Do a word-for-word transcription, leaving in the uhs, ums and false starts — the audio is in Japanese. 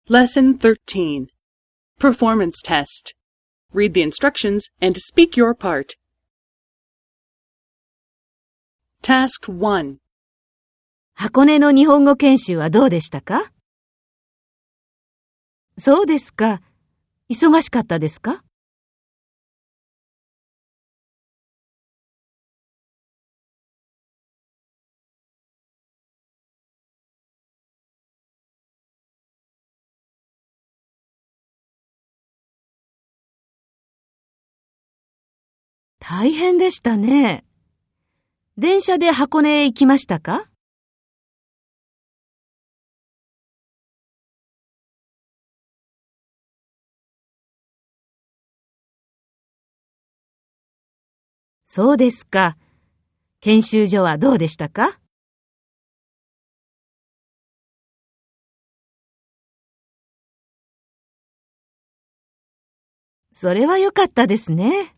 Lesson thirteen. Performance Test. Read the instructions and speak your part. Task one. 箱根の日本語研修はどうでしたか？そうですか。忙しかったですか？大変でしたね。電車で箱根へ行きましたか？そうですか。研修所はどうでしたか？それは良かったですね。